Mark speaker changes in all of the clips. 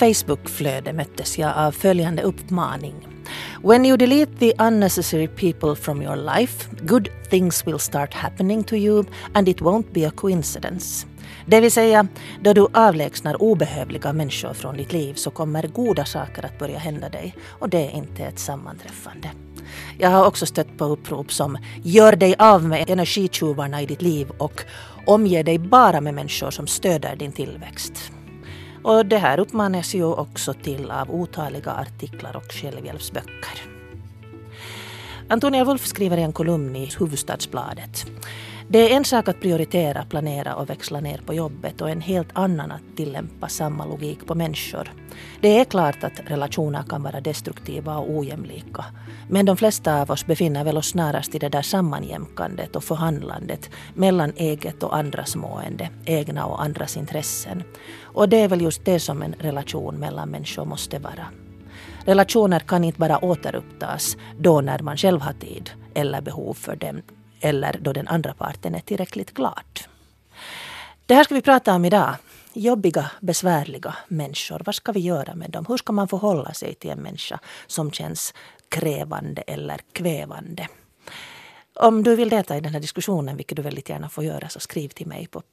Speaker 1: Facebook-flöde möttes jag av följande uppmaning. When you delete the unnecessary people from your life, good things will start happening to you and it won't be a coincidence. Det vill säga, då du avlägsnar obehövliga människor från ditt liv så kommer goda saker att börja hända dig och det är inte ett sammanträffande. Jag har också stött på upprop som gör dig av med energitjuvarna i ditt liv och omger dig bara med människor som stöder din tillväxt. Och det här uppmanas ju också till av otaliga artiklar och självhjälpsböcker. Antonia Wolf skriver i en kolumn i Hufvudstadsbladet. Det är en sak att prioritera, planera och växla ner på jobbet och en helt annan att tillämpa samma logik på människor. Det är klart att relationer kan vara destruktiva och ojämlika. Men de flesta av oss befinner väl oss snarast i det där sammanjämkandet och förhandlandet mellan eget och andras mående, egna och andras intressen. Och det är väl just det som en relation mellan människor måste vara. Relationer kan inte bara återupptas då när man själv har tid eller behov för dem eller då den andra parten är tillräckligt glad. Det här ska vi prata om idag. Jobbiga, besvärliga människor. Vad ska vi göra med dem? Hur ska man förhålla sig till en människa som känns krävande eller kvävande? Om du vill delta i den här diskussionen, vilket du väldigt gärna får göra, så skriv till mig på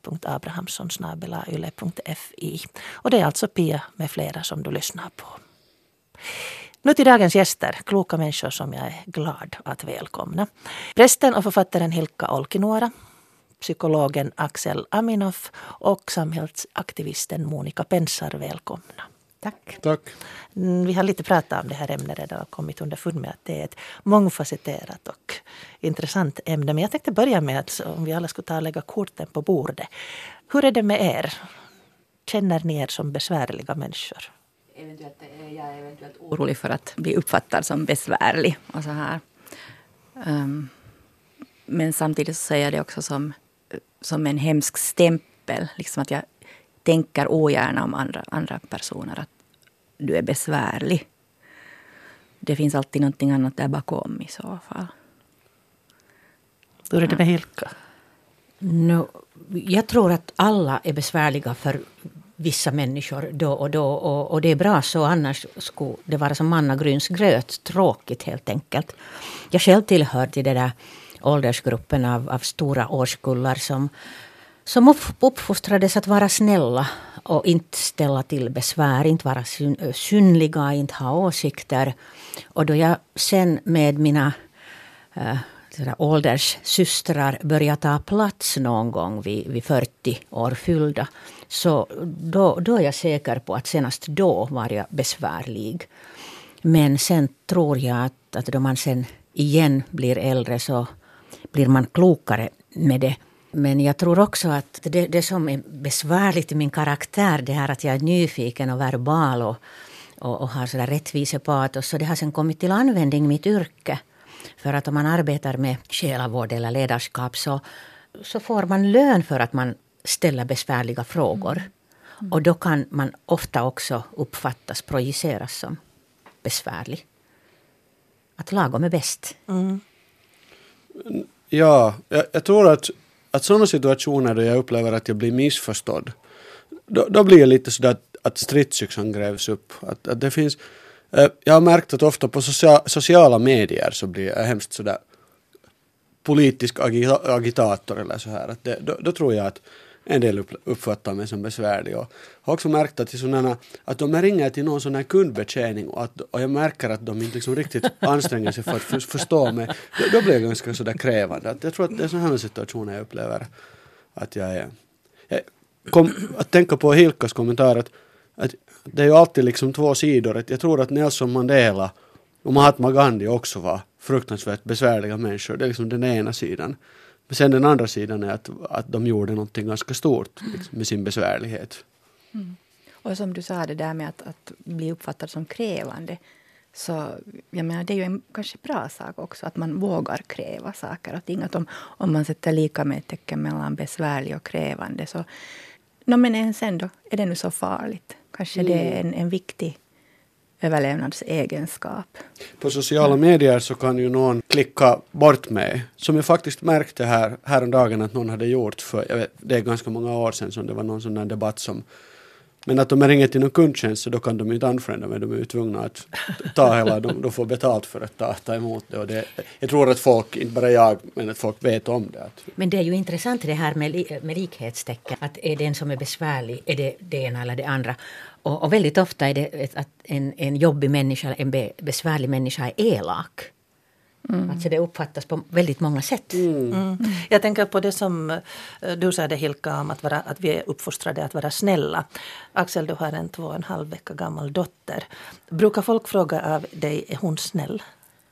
Speaker 1: pia.abrahamsson@yle.fi. Och det är alltså Pia med flera som du lyssnar på. Nu till dagens gäster, kloka människor som jag är glad att välkomna. Prästen och författaren Hilkka Olkinuora, psykologen Axel Aminoff och samhällsaktivisten Monika Pensar, välkomna.
Speaker 2: Tack.
Speaker 3: Tack.
Speaker 1: Vi har lite pratat om det här ämnet redan och kommit underfund med att det är ett mångfacetterat och intressant ämne. Men jag tänkte börja med att om vi alla skulle ta och lägga korten på bordet. Hur är det med er? Känner ni er som besvärliga människor?
Speaker 2: Jag är eventuellt orolig för att bli uppfattad som besvärlig och så här. Men samtidigt så säger jag det också som en hemsk stämpel. Liksom att jag tänker ogärna om andra personer att du är besvärlig. Det finns alltid någonting annat där bakom i så fall.
Speaker 1: Hur är det med Hilkka?
Speaker 4: Jag tror att alla är besvärliga för vissa människor då och då. Och det är bra så, annars skulle det vara som mannagrynsgröt, tråkigt helt enkelt. Jag själv tillhör till den där åldersgruppen av stora årskullar som uppfostrades att vara snälla och inte ställa till besvär, inte vara synliga, inte ha åsikter. Och då jag sen med mina ålderssystrar började ta plats någon gång vid 40 år fyllda, så då är jag säker på att senast då var jag besvärlig. Men sen tror jag att då man sen igen blir äldre så blir man klokare med det. Men jag tror också att det som är besvärligt i min karaktär, det här att jag är nyfiken och verbal och har sådär rättvisepatos, så det har sen kommit till användning i mitt yrke. För att om man arbetar med själavård eller ledarskap så får man lön för att man ställer besvärliga frågor. Och då kan man ofta också uppfattas, projiceras som besvärlig. Att lagom är bäst.
Speaker 1: Mm.
Speaker 3: Ja, jag tror att sådana situationer då jag upplever att jag blir missförstådd, då blir det lite sådär att stridsyxan grävs upp. Att det finns, jag har märkt att ofta på sociala medier så blir jag hemskt sådär politisk agitator eller så här. Att då tror jag att en del uppfattar mig som besvärlig. Och har också märkt att de ringer till någon sån här kundbetjäning och jag märker att de inte liksom riktigt anstränger sig för att förstå mig. Då blir jag ganska sådär krävande. Att jag tror att det är sådana här situationer jag upplever att jag är. Att tänka på Hilkas kommentar att det är ju alltid liksom två sidor. Jag tror att Nelson Mandela och Mahatma Gandhi också var fruktansvärt besvärliga människor. Det är liksom den ena sidan. Men sen den andra sidan är att de gjorde någonting ganska stort liksom, med sin besvärlighet.
Speaker 2: Mm. Och som du sa, det där med att bli uppfattad som krävande. Så jag menar, det är ju en kanske bra sak också att man vågar kräva saker och ting. Att om man sätter lika med ett tecken mellan besvärlig och krävande så men sen då är det nu så farligt. Kanske det är en viktig överlevnadsegenskap.
Speaker 3: På sociala medier så kan ju någon klicka bort mig. Som jag faktiskt märkte häromdagen att någon hade gjort för, det är ganska många år sedan som det var någon sån där debatt som Men att de ringer till någon kundtjänst så då kan de inte anfrända men de är ju tvungna att ta hela, de får betalt för att ta emot det. Och jag tror att folk, inte bara jag, men att folk vet om det.
Speaker 4: Men det är ju intressant det här med likhetstecken. Att är det en som är besvärlig, är det ena eller det andra. Och väldigt ofta är det att en jobbig människa, en besvärlig människa är elak. Alltså det uppfattas på väldigt många sätt.
Speaker 1: Jag tänker på det som du sa det, Hilka, om att vi är uppfostrade att vara snälla. Axel, du har en 2,5 vecka gammal dotter. Brukar folk fråga av dig, är hon snäll?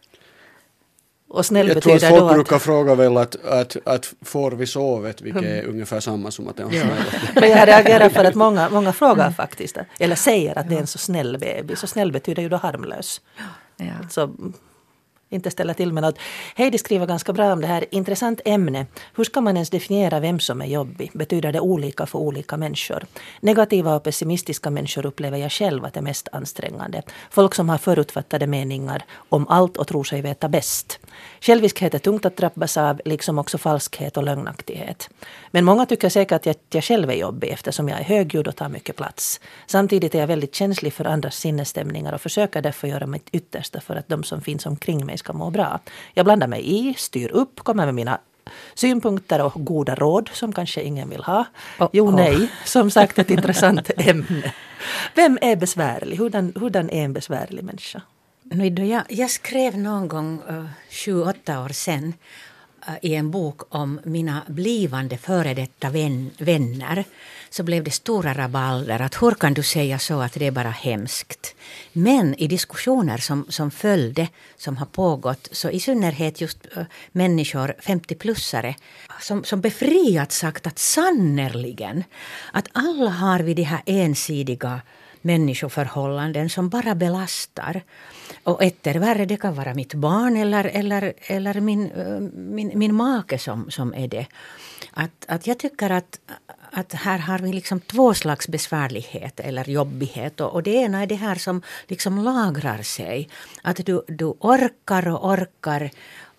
Speaker 1: Och snäll
Speaker 3: jag tror att
Speaker 1: betyder
Speaker 3: folk
Speaker 1: då
Speaker 3: brukar fråga väl att får vi sovet, vilket är ungefär samma som att det är en snäll.
Speaker 1: Men jag reagerar för att många frågar faktiskt, eller säger att det är en så snäll baby. Så snäll betyder ju då harmlös.
Speaker 2: Ja.
Speaker 1: Så inte ställa till med något. Heidi skriver ganska bra om det här. Intressant ämne. Hur ska man ens definiera vem som är jobbig? Betyder det olika för olika människor? Negativa och pessimistiska människor upplever jag själv att det är mest ansträngande. Folk som har förutfattade meningar om allt och tror sig veta bäst. Själviskhet är tungt att drabbas av, liksom också falskhet och lögnaktighet. Men många tycker säkert att jag själv är jobbig eftersom jag är högljudd och tar mycket plats. Samtidigt är jag väldigt känslig för andras sinnesstämningar och försöker därför göra mitt yttersta för att de som finns omkring mig ska må bra. Jag blandar mig i, styr upp, kommer med mina synpunkter och goda råd som kanske ingen vill ha. Nej, som sagt ett intressant ämne. Vem är besvärlig? Hurdan är en besvärlig människa?
Speaker 4: Jag skrev någon gång 7-8 år sedan i en bok om mina blivande före detta vänner, så blev det stora rabalder att hur kan du säga så att det är bara hemskt. Men i diskussioner som följde, som har pågått, så i synnerhet just människor 50-plussare som befriat sagt att sannerligen att alla har vi de här ensidiga människoförhållanden som bara belastar. Och värre, det kan vara mitt barn eller min make som är det. Att jag tycker att här har vi liksom 2 slags besvärlighet eller jobbighet. Och det ena är det här som liksom lagrar sig. Att du orkar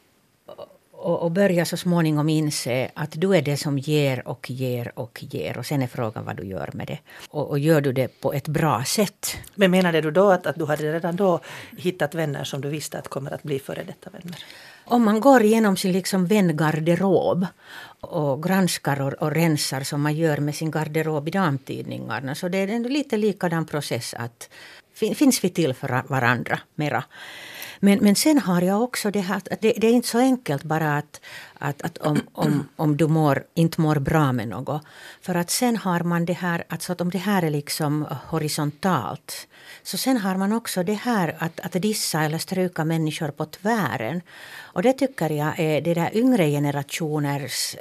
Speaker 4: och börjar så småningom inse att du är det som ger. Och sen är frågan vad du gör med det. Och gör du det på ett bra sätt.
Speaker 1: Men menade du då att du hade redan då hittat vänner som du visste att kommer att bli före detta vänner?
Speaker 4: Om man går igenom sin liksom vängarderob och granskar och rensar som man gör med sin garderob i damtidningarna, så det är en lite likadan process att finns vi till för varandra mera. Men sen har jag också det här att det är inte så enkelt bara att om du inte mår bra med något. För att sen har man det här att om det här är liksom horisontalt, så sen har man också det här att dissa eller stryka människor på tvären. Och det tycker jag är det där yngre generationers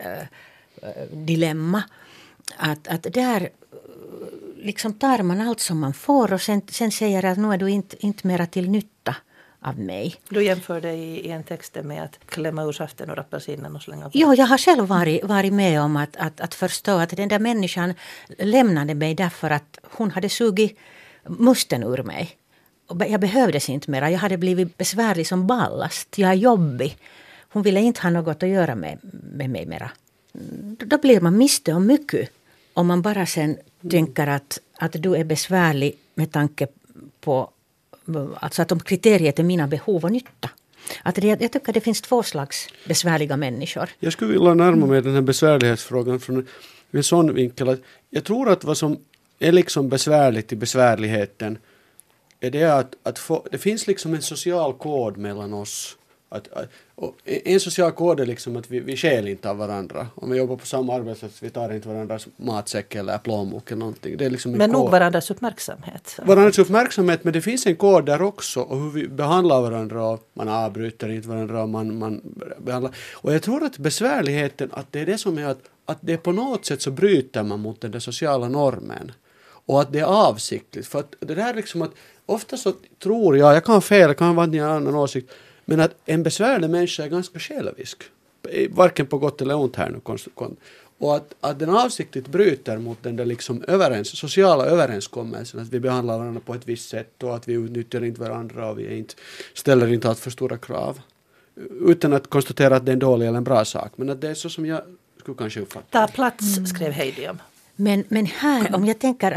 Speaker 4: dilemma. Att där liksom tar man allt som man får och sen säger att nu är du inte mera till nytta av mig.
Speaker 1: Du jämför det i en text med att klämma ur saften och apelsinen och slänga på.
Speaker 4: Jo, jag har själv varit med om att förstå att den där människan lämnade mig därför att hon hade sugit musten ur mig. Och jag behövdes inte mera. Jag hade blivit besvärlig som ballast. Jag är jobbig. Hon ville inte ha något att göra med mig mera. Då blir man miste om mycket. Om man bara sen tänker att du är besvärlig med tanke på alltså att om kriteriet är mina behov och nytta. Jag tycker det finns 2 slags besvärliga människor.
Speaker 3: Jag skulle vilja närma mig den här besvärlighetsfrågan från en sån vinkel att jag tror att vad som är liksom besvärligt i besvärligheten är det att det finns liksom en social kod mellan oss. Och en social kod är liksom att vi skäl inte av varandra. Om vi jobbar på samma arbetsplats, vi tar inte varandras matsäck eller plånbok eller någonting. Det är liksom en
Speaker 1: men nog
Speaker 3: kod.
Speaker 1: varandras uppmärksamhet.
Speaker 3: Varandras uppmärksamhet, men det finns en kod där också. Och hur vi behandlar varandra. Och man avbryter inte varandra. Man behandlar. Och jag tror att besvärligheten, att det är det som är att det på något sätt så bryter man mot den där sociala normen. Och att det är avsiktligt. För att det där liksom att ofta så tror jag kan ha fel, jag kan ha en annan åsikt. Men att en besvärlig människa är ganska självisk. Varken på gott eller ont här nu. Och att den avsiktligt bryter mot den där liksom sociala överenskommelsen. Att vi behandlar varandra på ett visst sätt. Och att vi utnyttjar inte varandra. Och vi ställer inte allt för stora krav. Utan att konstatera att det är en dålig eller en bra sak. Men att det är så som jag skulle kanske uppfatta.
Speaker 1: Ta plats, skrev Heidi om.
Speaker 4: Men här, om jag tänker alltså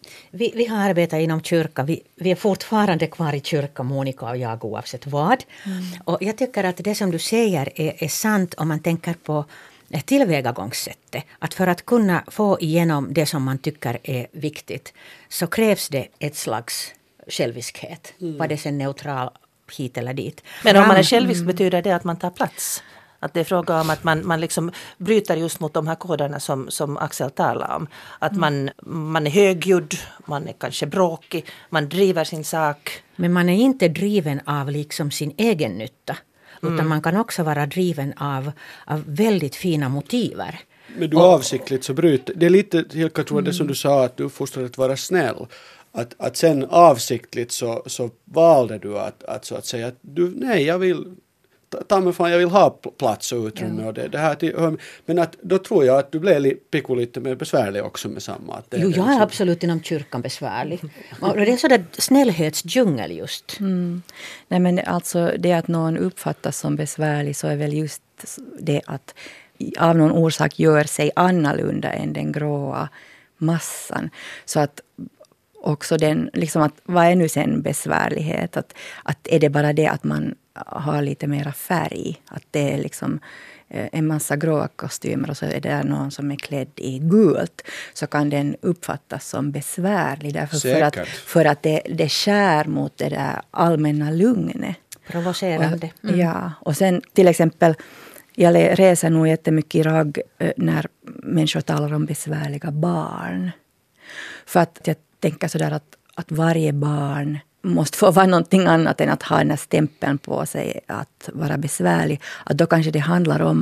Speaker 4: Vi har arbetat inom kyrka. Vi är fortfarande kvar i kyrka, Monica och jag, oavsett vad. Och jag tycker att det som du säger är sant om man tänker på tillvägagångssättet. Att för att kunna få igenom det som man tycker är viktigt så krävs det ett slags själviskhet. Var det sen neutral hit eller dit.
Speaker 1: Men om man är självisk betyder det att man tar plats. Att det är fråga om att man liksom bryter just mot de här koderna som Axel talar om. Att man är högljudd, man är kanske bråkig, man driver sin sak.
Speaker 4: Men man är inte driven av liksom sin egen nytta. Utan man kan också vara driven av väldigt fina motiver.
Speaker 3: Men du avsiktligt så bryter. Det är lite, Hilka, tror jag det som du sa, att du fostrar att vara snäll. Att sen avsiktligt så valde du att så att säga att jag vill jag vill ha plats och utrymme och det här. Men att, då tror jag att du blev lite mer besvärlig också med samma. Att
Speaker 4: jag är absolut inom kyrkan besvärlig. Och det är sådär snällhetsdjungel just.
Speaker 2: Nej, men alltså det att någon uppfattas som besvärlig så är väl just det att av någon orsak gör sig annorlunda än den gråa massan. Så att också den, liksom att vad är nu sen besvärlighet? Att är det bara det att man har lite mera färg? Att det är liksom en massa gråa kostymer och så är det någon som är klädd i gult, så kan den uppfattas som besvärlig. Därför för att det skär mot det där allmänna lugnet.
Speaker 4: Provocerande.
Speaker 2: Ja, och sen till exempel, jag reser nog jättemycket i ragg när människor talar om besvärliga barn. För att jag tänker sådär att varje barn måste få vara någonting annat än att ha den här stämpeln på sig att vara besvärlig. Att då kanske det handlar om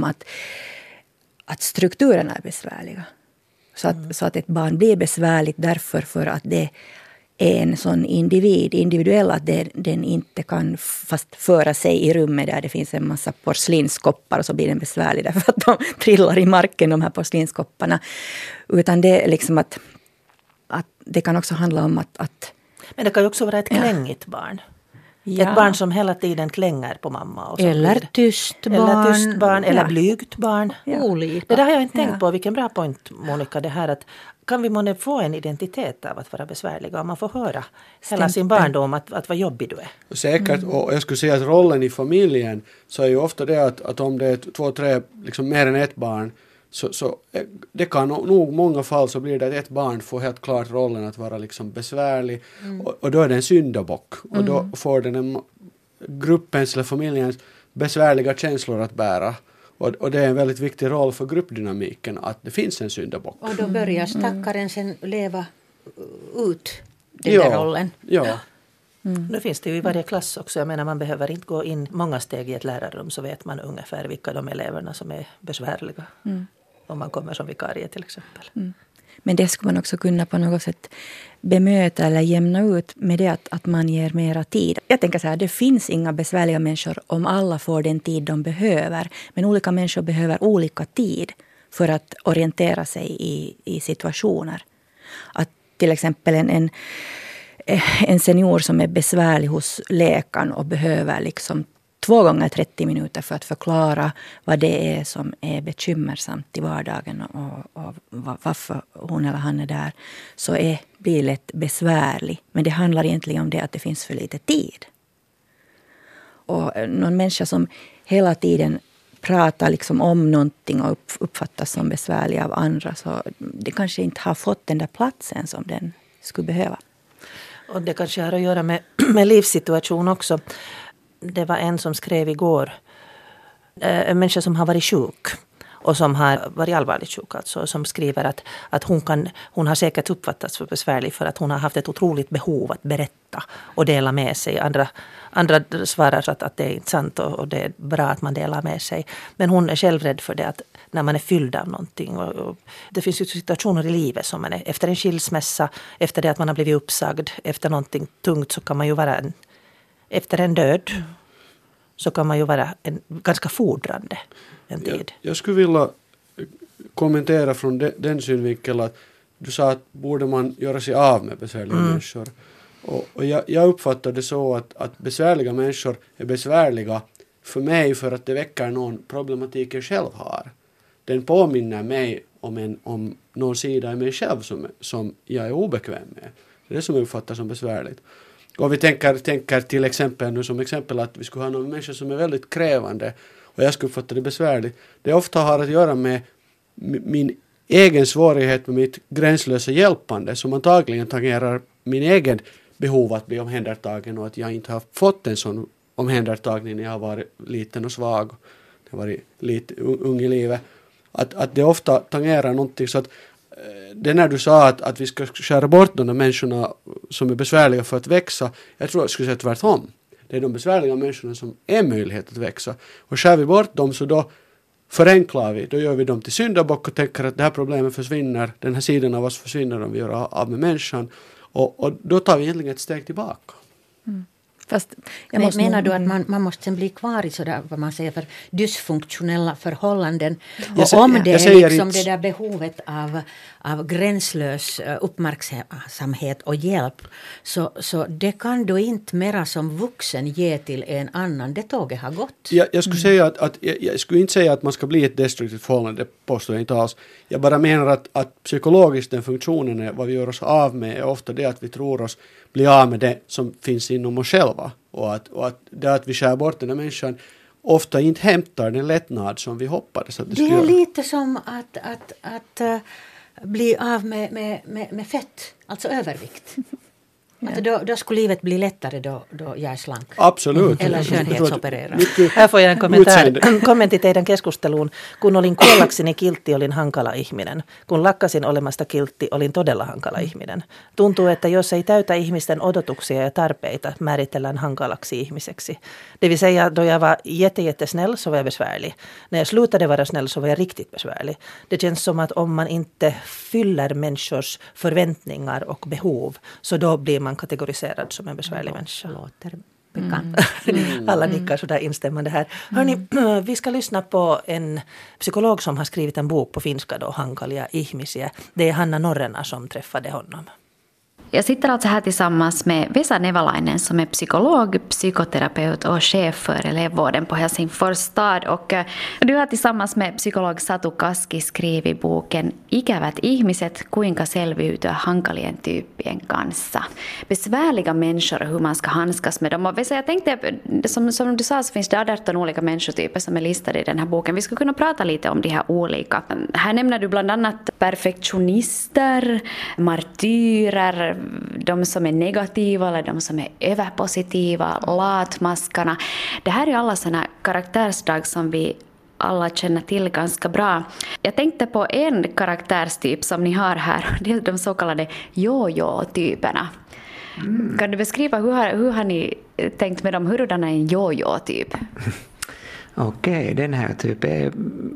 Speaker 2: att strukturerna är besvärliga. Så att ett barn blir besvärligt därför för att det är en sån individuell att den inte kan fast föra sig i rummet där det finns en massa porslinskoppar och så blir den besvärlig därför att de trillar i marken, de här porslinskopparna. Utan det är liksom att det kan också handla om att
Speaker 1: men det kan ju också vara ett klängigt barn. Ja. Ett barn som hela tiden klänger på mamma. Och
Speaker 4: eller tyst barn.
Speaker 1: Eller blygt barn.
Speaker 4: Ja. Olika.
Speaker 1: Det där har jag inte tänkt på. Vilken bra point, Monica, det här att kan vi månne få en identitet av att vara besvärliga om man får höra hela sin barndom att vad jobbig du är.
Speaker 3: Säkert, och jag skulle säga att rollen i familjen så är ju ofta det att om det är 2, 3, liksom mer än ett barn så det kan nog många fall så blir det att ett barn får helt klart rollen att vara liksom besvärlig och då är det en syndabock och då får den gruppens eller familjens besvärliga känslor att bära och det är en väldigt viktig roll för gruppdynamiken att det finns en syndabock.
Speaker 4: Och då börjar stackaren sen leva ut den där rollen.
Speaker 3: Ja.
Speaker 1: Nu finns det ju i varje klass också. Jag menar man behöver inte gå in många steg i ett lärarrum så vet man ungefär vilka de eleverna som är besvärliga. Om man kommer som vikarie till exempel.
Speaker 2: Men det skulle man också kunna på något sätt bemöta eller jämna ut med det att man ger mera tid. Jag tänker så här, det finns inga besvärliga människor om alla får den tid de behöver. Men olika människor behöver olika tid för att orientera sig i situationer. Att till exempel en senior som är besvärlig hos läkaren och behöver liksom 2 gånger 30 minuter för att förklara vad det är som är bekymmersamt i vardagen och varför hon eller han är där, så blir lätt besvärlig. Men det handlar egentligen om det att det finns för lite tid. Och någon människa som hela tiden pratar liksom om någonting och uppfattas som besvärlig av andra, så det kanske inte har fått den där platsen som den skulle behöva.
Speaker 1: Och det kanske har att göra med livssituation också. Det var en som skrev igår, en människa som har varit sjuk och som har varit allvarligt sjuk, alltså, som skriver att hon har säkert uppfattats för besvärlig för att hon har haft ett otroligt behov att berätta och dela med sig. Andra svarar att det är inte sant och det är bra att man delar med sig. Men hon är själv rädd för det att när man är fylld av någonting. Och det finns ju situationer i livet som man är efter en skilsmässa, efter det att man har blivit uppsagd, efter någonting tungt så kan man ju vara efter en död så kan man ju vara ganska fordrande en tid. Jag
Speaker 3: skulle vilja kommentera från den synvinkeln att du sa att borde man göra sig av med besvärliga människor. Och jag uppfattar det så att besvärliga människor är besvärliga för mig för att det väcker någon problematik jag själv har. den påminner mig om någon sida i mig själv som jag är obekväm med. Det är det som jag uppfattar som besvärligt. Och vi tänker till exempel nu som exempel att vi skulle ha någon människa som är väldigt krävande och jag skulle uppfatta det besvärligt. Det ofta har att göra med min egen svårighet med mitt gränslösa hjälpande som antagligen tangerar min egen behov att bli omhändertagen och att jag inte har fått en sån omhändertagning när jag har varit liten och svag. Jag har varit lite ung i livet. Att det ofta tangerar någonting så att det när du sa att vi ska skära bort de där människorna som är besvärliga för att växa, jag tror jag skulle säga tvärtom. Det är de besvärliga människorna som är möjlighet att växa. Och skär vi bort dem så då förenklar vi, då gör vi dem till syndabock och tänker att det här problemet försvinner, den här sidan av oss försvinner om vi gör av med människan. Och då tar vi egentligen ett steg tillbaka.
Speaker 2: Mm.
Speaker 4: Menar du att man måste bli kvar i sådär, vad man säger, för dysfunktionella förhållanden? Och om det är liksom det där behovet av gränslös uppmärksamhet och hjälp, så det kan du inte mera som vuxen ge till en annan. Det tåget har gått.
Speaker 3: Jag skulle säga jag skulle inte säga att man ska bli ett destruktivt förhållande, det påstår jag inte alls. Jag bara menar att psykologiskt den funktionen är, vad vi gör oss av med är ofta det att vi tror oss bli av med det som finns inom oss själva. Och att det att vi skär bort den här människan ofta inte hämtar den lättnad som vi hoppades att det skulle
Speaker 4: göra.
Speaker 3: Det
Speaker 4: är lite som att bli av med fett, alltså övervikt. Ja. Då skulle livet bli lättare då jag är slank.
Speaker 3: Absolut.
Speaker 4: Eller skönhetsoperera.
Speaker 1: Här får jag en kommentti teidän keskusteluun. Kun olin kuollakseni kiltti, olin hankala ihminen. Kun lakkasin olemasta kiltti, olin todella hankala ihminen. Tuntuu, että jos ei täytä ihmisten odotuksia ja tarpeita, määritellään hankalaksi ihmiseksi. Det vill säga, då jag var jättesnäll så var jag besvärlig. När jag slutade vara snäll så var jag riktigt besvärlig. Det känns som att om man inte fyller människors förväntningar och behov, så då blir man kategoriserad som en besvärlig människa.
Speaker 4: Låter bekant.
Speaker 1: Alla nickar sådär instämmande här. Hörrni, vi ska lyssna på en psykolog som har skrivit en bok på finska då, Hankalia ihmisiä. Det är Hanna Norrena som träffade honom.
Speaker 5: Jag sitter alltså här tillsammans med Vesa Nevalainen som är psykolog, psykoterapeut och chef för elevvården på Helsingfors stad. Och du har tillsammans med psykolog Satu Kaski skrivit boken Ikävät ihmiset, kuinka selviytyä hankalien tyyppien kanssa. Besvärliga människor och hur man ska handskas med dem. Och Vesa, jag tänkte, som du sa så finns det 18 olika människotyper som är listade i den här boken. Vi skulle kunna prata lite om de här olika. Här nämner du bland annat perfektionister, martyrer, de som är negativa eller de som är överpositiva, latmaskarna. Det här är alla sådana karaktärsdrag som vi alla känner till ganska bra. Jag tänkte på en karaktärstyp som ni har här, det är de så kallade jojo-typerna. Kan du beskriva hur har ni tänkt med dem? Hurdan är en jojo-typ?
Speaker 6: Okej, den här typen är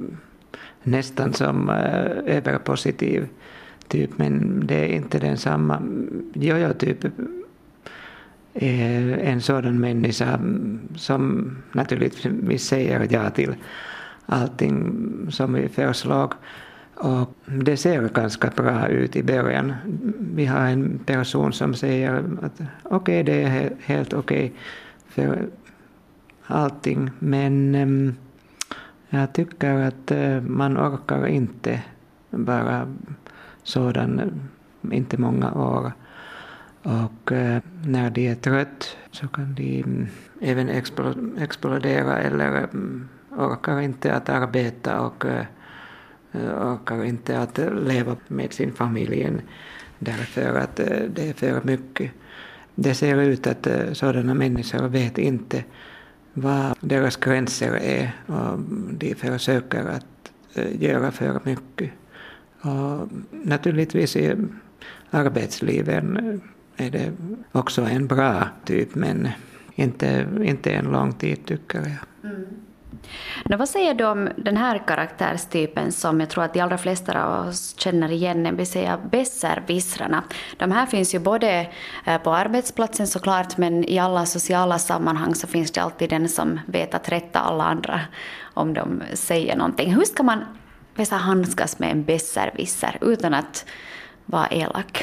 Speaker 6: nästan som överpositiv typ, men det är inte den samma. Jojo-typ är en sådan människa som naturligtvis säger ja till allting som vi föreslår. Och det ser ganska bra ut i början. Vi har en person som säger att okej, det är helt okej för allting, men jag tycker att man orkar inte bara sådan, inte många år. Och när de är trött så kan de även explodera eller orkar inte att arbeta och orkar inte att leva med sin familj därför att det är för mycket. Det ser ut att sådana människor vet inte vad deras gränser är och de försöker att göra för mycket. Och naturligtvis i arbetslivet är det också en bra typ, men inte en lång tid tycker jag.
Speaker 5: Nå, vad säger du om den här karaktärstypen som jag tror att de allra flesta av oss känner igen, det vill säga besserwissrarna? De här finns ju både på arbetsplatsen såklart, men i alla sociala sammanhang så finns det alltid den som vet att rätta alla andra om de säger någonting. Hur ska man handskas med en besserwisser utan att vara elak?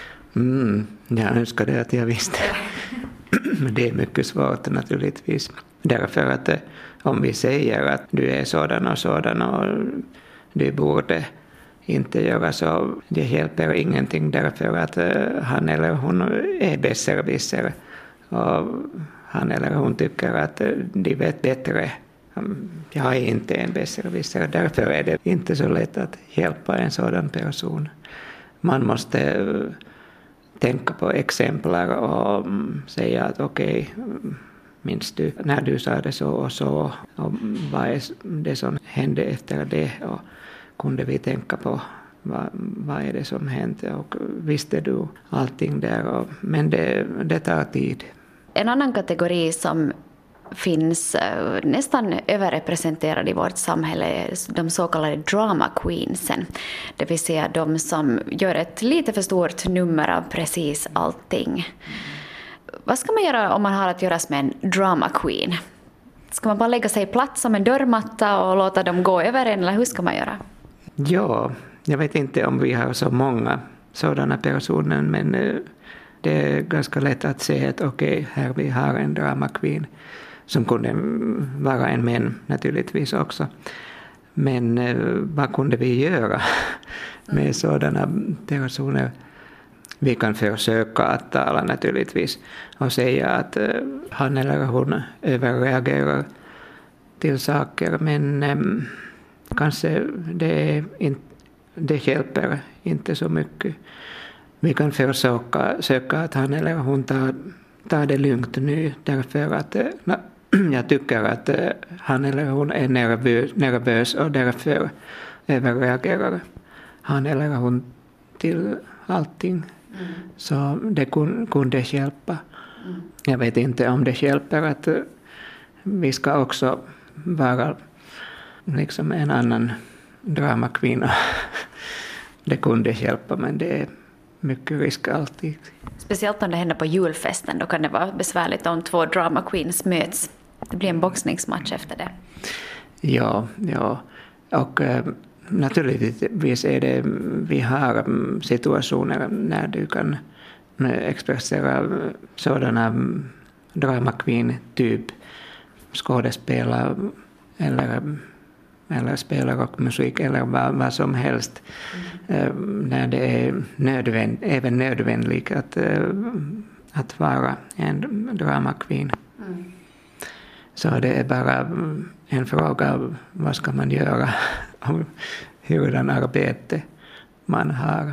Speaker 6: Jag önskade att jag visste. Men det är mycket svårt naturligtvis. Därför att om vi säger att du är sådan och du borde inte göra så, det hjälper ingenting därför att han eller hon är besserwisser och han eller hon tycker att de vet bättre. Jag är inte en besserwisser, därför är det inte så lätt att hjälpa en sådan person. Man måste tänka på exemplar och säga att okej, minns du när du sa det så och vad är det som hände efter det och kunde vi tänka på vad är det som hände och visste du allting där men det tar tid.
Speaker 5: En annan kategori som finns nästan överrepresenterad i vårt samhälle är de så kallade drama queensen. Det vill säga de som gör ett lite för stort nummer av precis allting. Vad ska man göra om man har att göra med en drama queen? Ska man bara lägga sig platt som en dörrmatta och låta dem gå över en, eller hur ska man göra?
Speaker 6: Ja, jag vet inte om vi har så många sådana personer, men det är ganska lätt att se att okej, här vi har en drama queen som kunde vara en män naturligtvis också. Men vad kunde vi göra med sådana personer? Vi kan försöka att tala naturligtvis och säga att han eller hon överreagerar till saker, men kanske det hjälper inte så mycket. Vi kan försöka att han eller hon tar det lugnt nu därför att jag tycker att han eller hon är nervös och därför överreagerar han eller hon till allting. Så det kunde hjälpa. Jag vet inte om det hjälper att vi ska också vara liksom en annan dramakvinna. Det kunde hjälpa, men det är mycket risk alltid.
Speaker 5: Speciellt om det händer på julfesten, då kan det vara besvärligt om två drama queens möts. Det blir en boxningsmatch efter det.
Speaker 6: Ja. Och naturligtvis är det, vi har situationer när du kan expressera sådana drama queen typ skådespelare eller spela rockmusik eller vad som helst. När det är även nödvändigt att vara en drama queen. Så det är bara en fråga av vad ska man göra och hurdan arbete man har.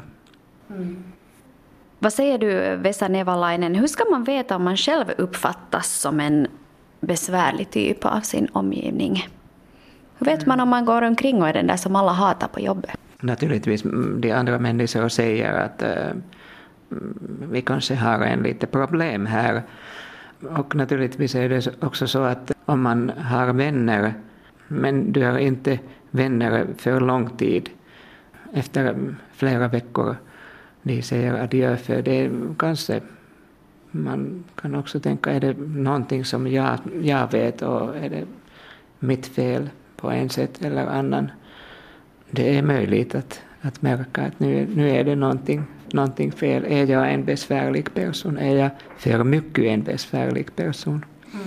Speaker 5: Vad säger du, Vesa Nevalainen? Hur ska man veta om man själv uppfattas som en besvärlig typ av sin omgivning? Hur vet man om man går omkring och är den där som alla hatar på jobbet?
Speaker 6: Naturligtvis, de andra människor säger att vi kanske har en lite problem här. Och naturligtvis är det också så att om man har vänner, men du har inte vänner för lång tid, efter flera veckor, de säger adjö, för det kanske man kan också tänka, är det någonting som jag vet och är det mitt fel på en sätt eller annan. Det är möjligt att märka att nu är det någonting fel. Är jag en besvärlig person? Är jag för mycket en besvärlig person?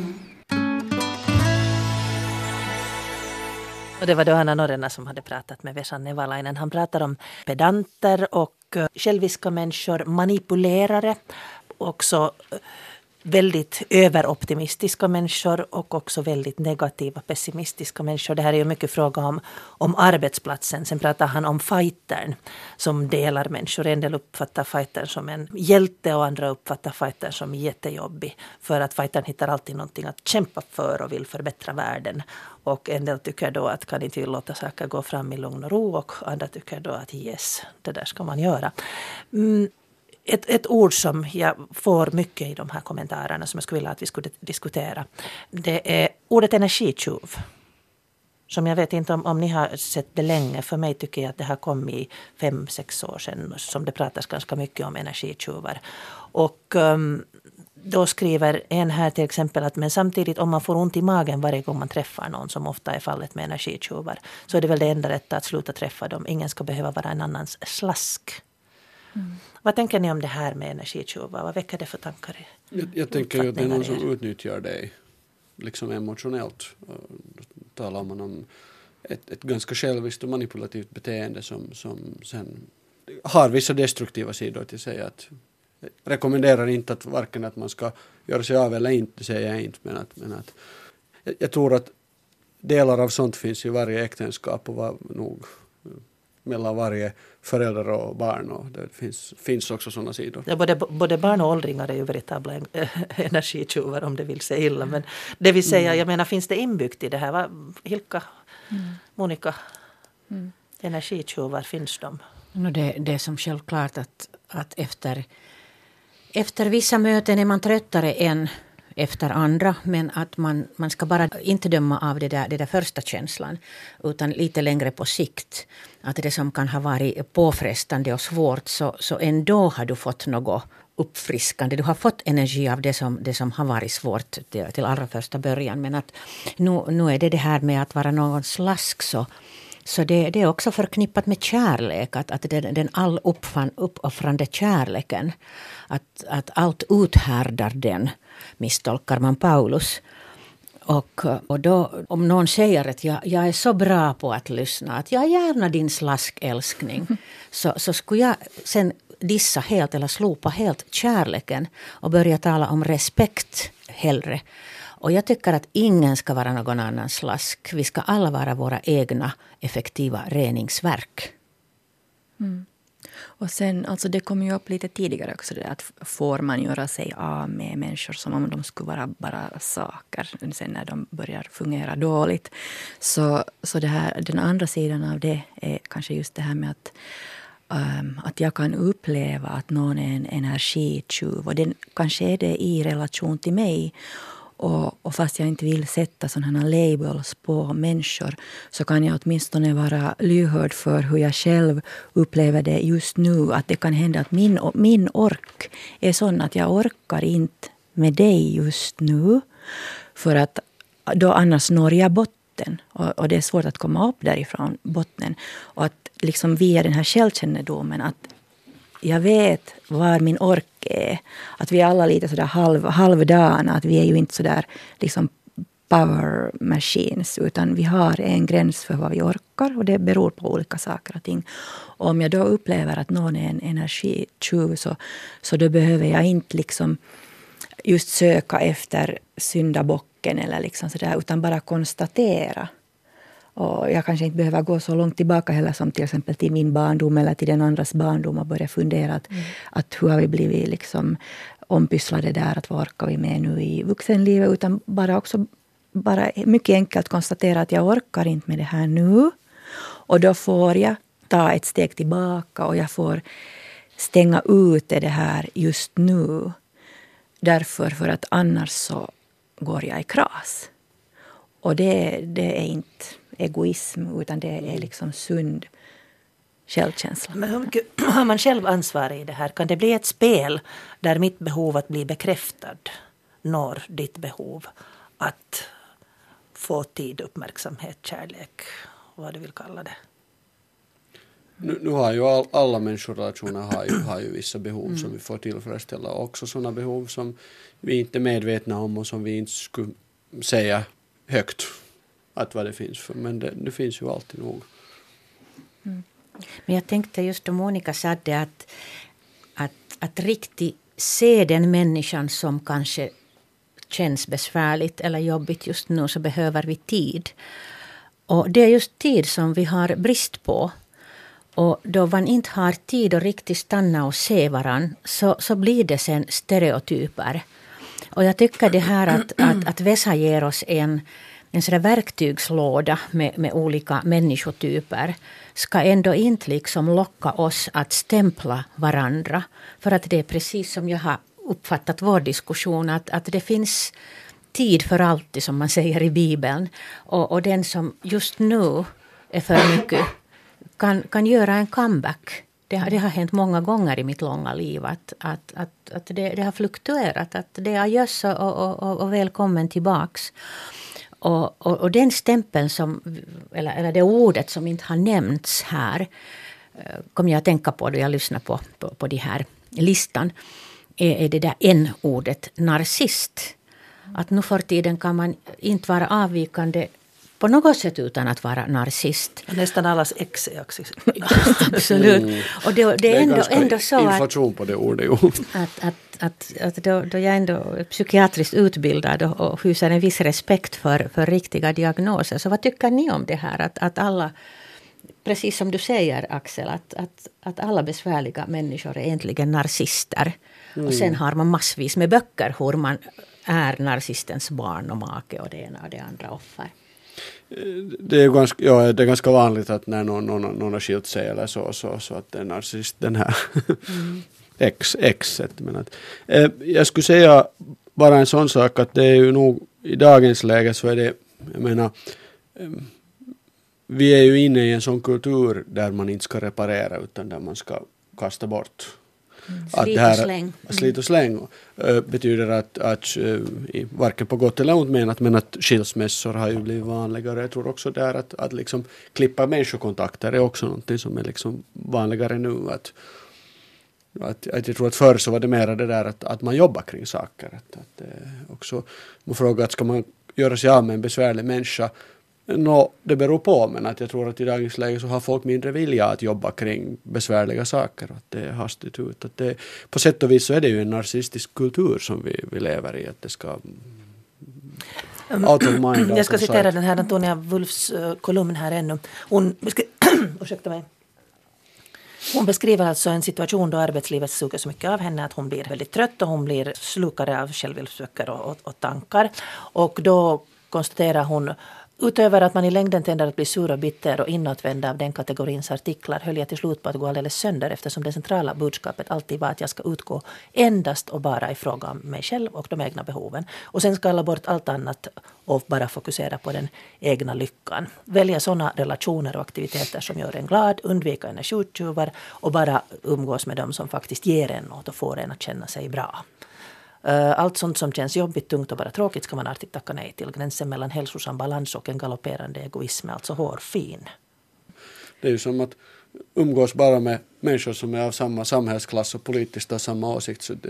Speaker 1: Och det var då Anna Norrena som hade pratat med Vesa Nevalainen. Han pratar om pedanter och själviska människor, manipulerare, också väldigt överoptimistiska människor och också väldigt negativa, pessimistiska människor. Det här är ju mycket fråga om arbetsplatsen. Sen pratar han om fightern som delar människor. En del uppfattar fightern som en hjälte och andra uppfattar fightern som jättejobbig. För att fightern hittar alltid någonting att kämpa för och vill förbättra världen. Och en del tycker då att kan inte låta saker gå fram i lugn och ro, och andra tycker då att yes, det där ska man göra. Ett ord som jag får mycket i de här kommentarerna som jag skulle vilja att vi skulle diskutera, det är ordet energitjuv. Som jag vet inte om ni har sett det länge. För mig tycker jag att det har kommit i 5-6 år sedan som det pratas ganska mycket om energitjuvar. Och då skriver en här till exempel att men samtidigt om man får ont i magen varje gång man träffar någon, som ofta är fallet med energitjuvar, så är det väl det enda rätta att sluta träffa dem. Ingen ska behöva vara en annans slask. Vad tänker ni om det här med energitjuvar? Vad väcker det för tankar?
Speaker 3: Jag tänker ju att det är någon som utnyttjar dig. liksom emotionellt. Då talar man om ett ganska själviskt och manipulativt beteende som sen har vissa destruktiva sidor till sig. Att jag rekommenderar inte att varken att man ska göra sig av eller inte, säger jag inte, men att jag tror att delar av sånt finns i varje äktenskap och nog mellan varje förälder och barn, och det finns också sådana sidor.
Speaker 1: Ja, både barn och åldringar är ju veritabla energitjuvar om det vill säga illa, men det vill säga, jag menar, finns det inbyggt i det här? Hilka, Monica, energitjuvar, finns de?
Speaker 4: Det är som självklart att efter vissa möten är man tröttare än efter andra, men att man ska bara inte döma av det där första känslan, utan lite längre på sikt. Att det som kan ha varit påfrestande och svårt, så ändå har du fått något uppfriskande. Du har fått energi av det som har varit svårt till allra första början. Men att nu är det här med att vara någon slask, så det är också förknippat med kärlek. Att den all uppoffrande kärleken, att allt uthärdar den, misstolkar man Paulus. Och då, om någon säger att jag är så bra på att lyssna, att jag är gärna din slaskälskning, så skulle jag sen dissa helt eller slopa helt kärleken och börja tala om respekt hellre. Och jag tycker att ingen ska vara någon annan slask. Vi ska alla vara våra egna effektiva reningsverk.
Speaker 2: Och sen, alltså det kom ju upp lite tidigare också, det att får man göra sig av med människor som om de skulle vara bara saker sen när de börjar fungera dåligt. Så det här, den andra sidan av det är kanske just det här med att jag kan uppleva att någon är en energitjuv, och den kanske är det i relation till mig. Och fast jag inte vill sätta sådana labels på människor, så kan jag åtminstone vara lyhörd för hur jag själv upplever det just nu. Att det kan hända att min ork är sån att jag orkar inte med dig just nu. För att då annars når jag botten. Och det är svårt att komma upp därifrån botten. Och att liksom via den här självkännedomen, att jag vet var min ork är. Att vi är alla lite sådär halvdana. Att vi är ju inte sådär liksom power machines. Utan vi har en gräns för vad vi orkar. Och det beror på olika saker och ting. Och om jag då upplever att någon är en energitjuv, så då behöver jag inte liksom just söka efter syndabocken eller liksom sådär. Utan bara konstatera. Och jag kanske inte behöver gå så långt tillbaka heller som till exempel till min barndom eller till den andras barndom och börja fundera att hur har vi blivit liksom ompysslade där, att vad orkar vi med nu i vuxenlivet, utan bara mycket enkelt konstatera att jag orkar inte med det här nu, och då får jag ta ett steg tillbaka och jag får stänga ut det här just nu, därför för att annars så går jag i kras. Och det är inte egoism, utan det är liksom sund självkänsla.
Speaker 1: Men hur mycket har man själv ansvar i det här? Kan det bli ett spel där mitt behov att bli bekräftad når ditt behov att få tid, uppmärksamhet, kärlek, vad du vill kalla det?
Speaker 3: Nu har ju alla människorelationer har ju vissa behov som vi får tillfredsställa, också sådana behov som vi inte är medvetna om och som vi inte skulle säga högt att vad det finns för, men det finns ju alltid nog.
Speaker 4: Men jag tänkte just då Monica sa det att riktigt se den människan som kanske känns besvärligt eller jobbigt just nu, så behöver vi tid. Och det är just tid som vi har brist på. Och då man inte har tid att riktigt stanna och se varann, så blir det sen stereotyper. Och jag tycker det här att Vesa ger oss en sån verktygslåda med olika människotyper ska ändå inte liksom locka oss att stämpla varandra. För att det är precis som jag har uppfattat vår diskussion, att det finns tid för alltid, som man säger i Bibeln. Och den som just nu är för mycket kan göra en comeback. Det har hänt många gånger i mitt långa liv att det har fluktuerat. Att det är adjöss och välkommen tillbaks. Och den stämpeln eller det ordet som inte har nämnts här, kom jag att tänka på då jag lyssnar på de här listan, är det där n-ordet narcissist. Att nu för tiden kan man inte vara avvikande på något sätt utan att vara narcissist.
Speaker 1: Nästan allas ex är
Speaker 4: Absolut. Och det är ändå så
Speaker 3: inflation på det ordet.
Speaker 4: Att då jag ändå är psykiatriskt utbildad och hyser en viss respekt för riktiga diagnoser. Så vad tycker ni om det här? Att alla, precis som du säger Axel, att alla besvärliga människor är egentligen narcissister. Och sen har man massvis med böcker hur man är narcissistens barn och make och det ena och det andra offer.
Speaker 3: Det är ganska vanligt att när någon har skilt sig eller så att det är narcissist den här exet. Men att, jag skulle säga bara en sån sak att det är ju nog i dagens läge så är det, jag menar, vi är ju inne i en sån kultur där man inte ska reparera utan där man ska kasta bort. Slit och släng betyder att varken på gott eller ont menat, men att skilsmässor har ju blivit vanligare. Jag tror också där att liksom klippa människokontakter är också någonting som är liksom vanligare nu. Att jag tror att förr så var det mer det där att man jobbar kring saker. Att också man frågar att ska man göra sig av med en besvärlig människa. Det beror på, men att jag tror att i dagens läge så har folk mindre vilja att jobba kring besvärliga saker. Att det är hastigt ut. Att det, på sätt och vis så är det ju en narcissistisk kultur som vi lever i. Att det ska out of mind.
Speaker 1: Jag ska citera den här Antonia Wulfs kolumn här ännu. Ursäkta mig. Hon beskriver alltså en situation då arbetslivet suger så mycket av henne att hon blir väldigt trött och hon blir slukare av självhjälpsböcker och tankar. Och då konstaterar hon: utöver att man i längden tender att bli sur och bitter och inåtvänd av den kategorins artiklar höll jag till slut på att gå alldeles sönder eftersom det centrala budskapet alltid var att jag ska utgå endast och bara i fråga om mig själv och de egna behoven. Och sen ska alla bort allt annat och bara fokusera på den egna lyckan. Välja sådana relationer och aktiviteter som gör en glad, undvika energitjuvar och bara umgås med dem som faktiskt ger en något och får en att känna sig bra. Allt sånt som känns jobbigt, tungt och bara tråkigt ska man alltid tacka nej till. Gränsen mellan hälsosam balans och en galopperande egoism är alltså hårfin.
Speaker 3: Det är ju som att umgås bara med människor som är av samma samhällsklass och politiskt av samma åsikt. Så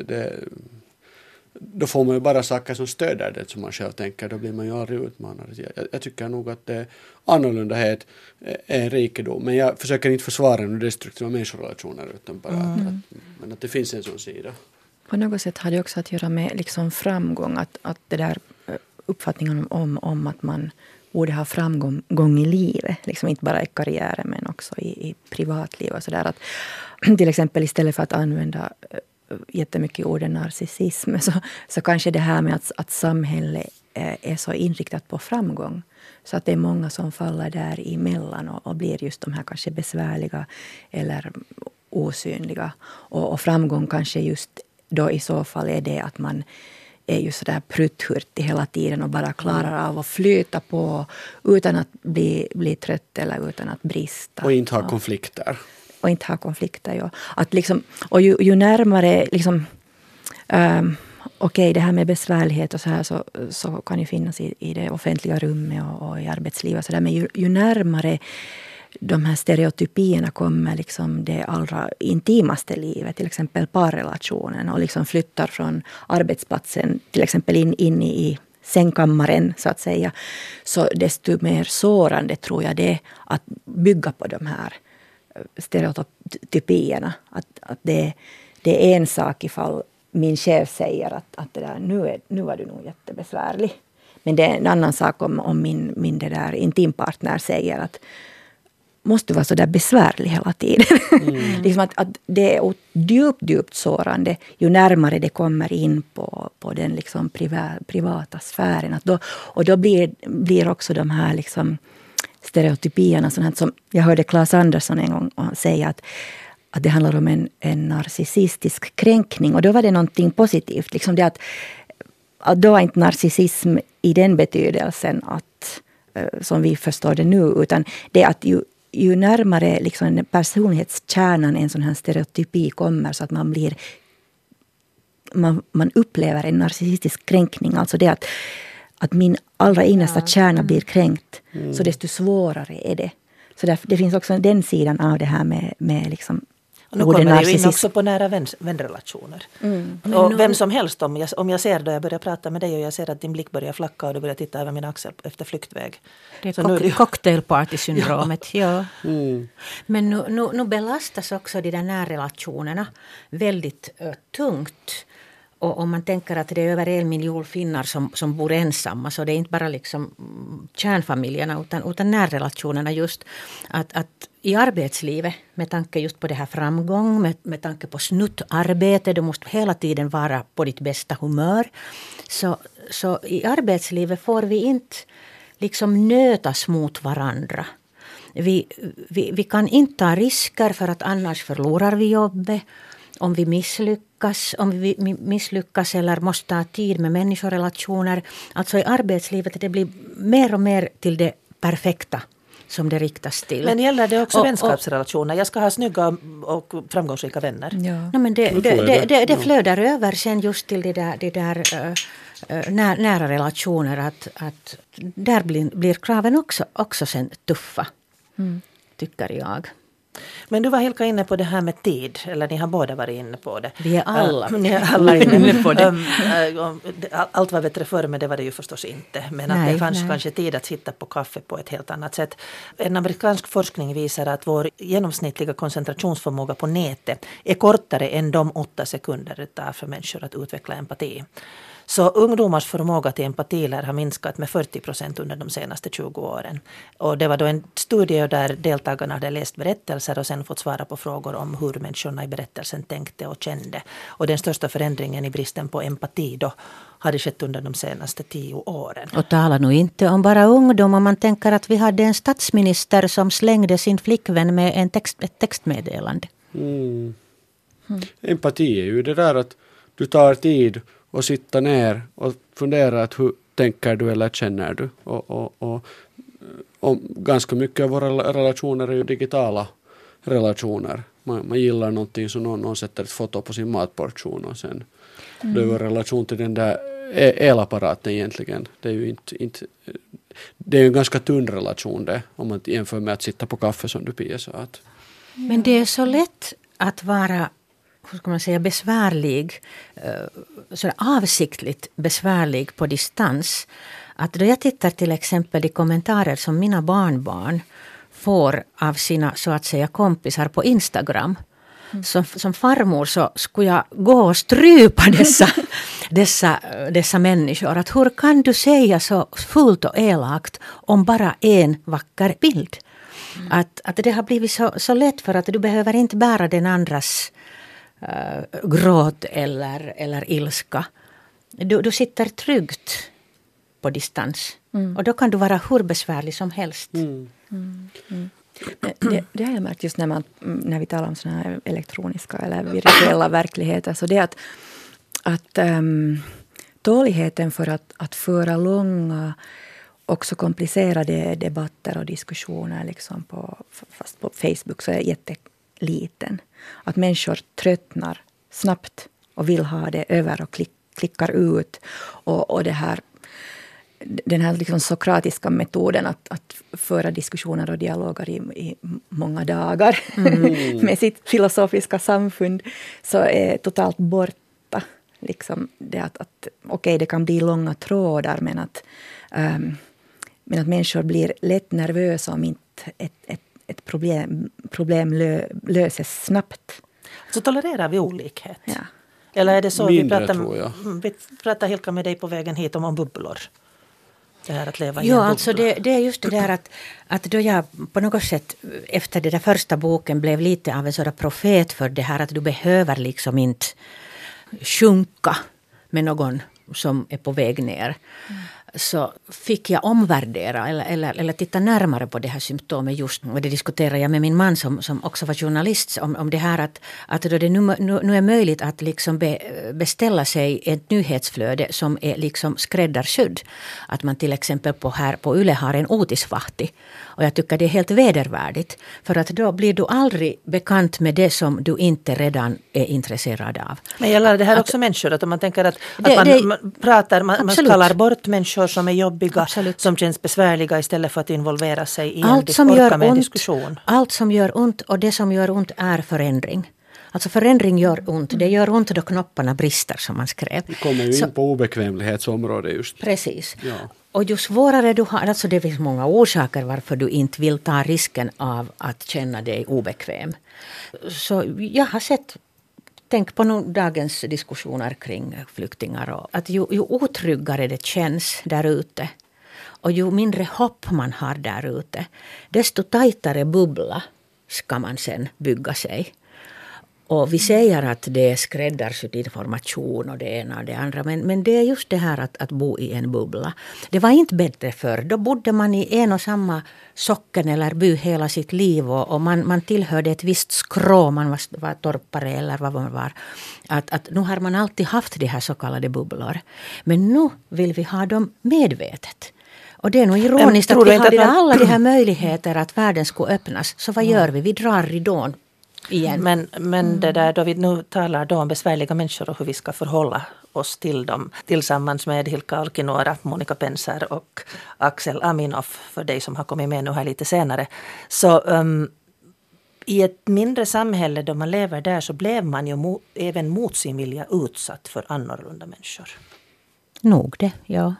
Speaker 3: då får man ju bara saker som stöder det som man själv tänker. Då blir man ju aldrig utmanad. Jag tycker nog att det är annorlundahet är en rikedom. Men jag försöker inte försvara några destruktiva människorelationer utan bara men att det finns en sån sida.
Speaker 2: På något sätt har det också att göra med liksom framgång. Att det där uppfattningen om att man borde ha framgång i livet. Liksom inte bara i karriären men också i privatlivet. Och så där. Att, till exempel istället för att använda jättemycket orden narcissism så kanske det här med att samhället är så inriktat på framgång. Så att det är många som faller där emellan och blir just de här kanske besvärliga eller osynliga. Och framgång kanske just då i så fall är det att man är ju sådär prutthurtig hela tiden och bara klarar av att flyta på utan att bli trött eller utan att brista.
Speaker 3: Och inte ha konflikter.
Speaker 2: Och inte ha konflikter, ja. Att liksom, och ju närmare liksom, okej, det här med besvärlighet och så här så kan ju finnas i det offentliga rummet och i arbetslivet. Så där, men ju närmare de här stereotypierna kommer liksom det allra intimaste livet, till exempel parrelationen, och liksom flyttar från arbetsplatsen till exempel in i sängkammaren så att säga, så desto mer sårande tror jag det att bygga på de här stereotypierna. Att det är en sak ifall min chef säger att det där, nu var du nog jättebesvärlig. Men det är en annan sak om min det där intimpartner säger att måste vara så där besvärlig hela tiden. Liksom att det är djupt sårande ju närmare det kommer in på den liksom privata sfären. Och då blir också de här liksom stereotypierna, sånt som jag hörde Claes Andersson en gång säga att det handlar om en narcissistisk kränkning. Och då var det någonting positivt. Liksom det att då är inte narcissism i den betydelsen att som vi förstår det nu, utan det är att ju närmare liksom personlighetskärnan en sån här stereotypi kommer, så att man upplever en narcissistisk kränkning. Alltså det att min allra innersta kärna blir kränkt, så desto svårare är det. Så det finns också den sidan av det här med liksom
Speaker 1: Och nu kommer det ju in också på nära vänrelationer. Och vem som helst, om jag ser då jag börjar prata med dig och jag ser att din blick börjar flacka och du börjar titta över min axel efter flyktväg.
Speaker 4: Det är cocktailparty-syndromet. Ja. Men nu belastas också de där närrelationerna väldigt tungt. Och om man tänker att det är över 1 miljon finnar som bor ensamma, så det är inte bara liksom kärnfamiljerna utan närrelationerna just. Att i arbetslivet, med tanke just på det här framgång, med tanke på snuttarbete, du måste hela tiden vara på ditt bästa humör. Så i arbetslivet får vi inte liksom nötas mot varandra. Vi kan inte ta risker för att annars förlorar vi jobbet. Om vi misslyckas eller måste ta tid med människorelationer. Alltså i arbetslivet det blir mer och mer till det perfekta som det riktas till.
Speaker 1: Men gäller det också vänskapsrelationer? Jag ska ha snygga och framgångsrika vänner.
Speaker 2: Ja.
Speaker 4: No, men det flödar över sen just till det där nära relationer. Att där blir kraven också sen tuffa, tycker jag.
Speaker 1: Men du var helt inne på det här med tid, eller ni har båda varit inne på det.
Speaker 4: Vi är alla
Speaker 1: inne på det. Allt var bättre förr, men det var det ju förstås inte. Men att det fanns kanske tid att sitta på kaffe på ett helt annat sätt. En amerikansk forskning visar att vår genomsnittliga koncentrationsförmåga på nätet är kortare än de 8 sekunder det tar för människor att utveckla empati. Så ungdomars förmåga till empati har minskat med 40% under de senaste 20 åren. Och det var då en studie där deltagarna hade läst berättelser och sen fått svara på frågor om hur människorna i berättelsen tänkte och kände. Och den största förändringen i bristen på empati då hade skett under de senaste 10 åren.
Speaker 4: Och tala nu inte om bara ungdom, om man tänker att vi hade en statsminister som slängde sin flickvän med ett textmeddelande.
Speaker 3: Empati är ju det där att du tar tid och sitta ner och fundera att hur tänker du eller känner du. Och ganska mycket av våra relationer är ju digitala relationer. Man gillar någonting så någon sätter ett foto på sin matportion och sen det är ju en relation till den där elapparaten egentligen. Det är ju inte det är ju en ganska tunn relation det, om man jämför med att sitta på kaffe som du Pia sa.
Speaker 4: Men det är så lätt att vara, hur ska man säga, besvärlig, så avsiktligt besvärlig på distans. Att då jag tittar till exempel i kommentarer som mina barnbarn får av sina så att säga kompisar på Instagram. Som farmor så skulle jag gå och strypa dessa människor. Att hur kan du säga så fullt och elakt om bara en vacker bild? Att det har blivit så lätt för att du behöver inte bära den andras gråt eller ilska. Du sitter tryggt på distans. Och då kan du vara hur besvärlig som helst.
Speaker 2: Det har jag märkt just när vi talar om såna här elektroniska eller virtuella verkligheter. Så det är att tåligheten för att föra långa, också komplicerade debatter och diskussioner liksom fast på Facebook så är jätteliten. Att människor tröttnar snabbt och vill ha det över och klickar ut. Och den här liksom sokratiska metoden att föra diskussioner och dialoger i många dagar med sitt filosofiska samfund så är totalt borta. Liksom det att okej, det kan bli långa trådar men att människor blir lätt nervösa om inte ett problem löses snabbt.
Speaker 1: Så tolererar vi olikhet?
Speaker 2: Ja.
Speaker 1: Eller är det så
Speaker 3: mindre, tror jag.
Speaker 1: Vi pratar Hilka med dig på vägen hit om bubblor? Det här att leva i
Speaker 4: ja, alltså det är just det där att då jag på något sätt efter den där första boken blev lite av en sådan profet för det här att du behöver liksom inte sjunka med någon som är på väg ner. Så fick jag omvärdera eller titta närmare på det här symptomet just. Och det diskuterade jag med min man som också var journalist om det här att då det nu är möjligt att liksom beställa sig ett nyhetsflöde som är liksom skräddarsydd. Att man till exempel på Yle har en otisvahti. Och jag tycker det är helt vedervärdigt. För att då blir du aldrig bekant med det som du inte redan är intresserad av.
Speaker 1: Men gäller det här också människor? Att om man tänker att man kallar bort människor som är jobbiga, absolut, som känns besvärliga istället för att involvera sig i en diskussion.
Speaker 4: Allt som gör ont och det som gör ont är förändring. Alltså förändring gör ont. Det gör ont då knopparna brister, som man skrev.
Speaker 3: Vi kommer ju in på obekvämlighetsområdet just.
Speaker 4: Precis.
Speaker 3: Ja.
Speaker 4: Och ju svårare du har, alltså det finns många orsaker varför du inte vill ta risken av att känna dig obekväm. Så jag har tänk på dagens diskussioner kring flyktingar. Och att ju otryggare det känns där ute och ju mindre hopp man har där ute, desto tajtare bubbla ska man sen bygga sig. Och vi säger att det är skräddarsydd information och det ena och det andra. Men det är just det här att bo i en bubbla. Det var inte bättre förr. Då bodde man i en och samma socken eller by hela sitt liv. Och man tillhörde ett visst skrå. Man var torpare eller vad man var. Att nu har man alltid haft de här så kallade bubblor. Men nu vill vi ha dem medvetet. Och det är nog ironiskt att vi hade alla de här möjligheter att världen skulle öppnas. Så vad gör vi? Vi drar ridån. Igen.
Speaker 1: Men det där då vi nu talar då om besvärliga människor och hur vi ska förhålla oss till dem tillsammans med Hilkka Alkinoora, Monika Penser och Axel Aminoff, för dig som har kommit med nu här lite senare. Så i ett mindre samhälle då man lever där så blev man ju även mot sin vilja utsatt för annorlunda människor.
Speaker 4: Nog det, ja.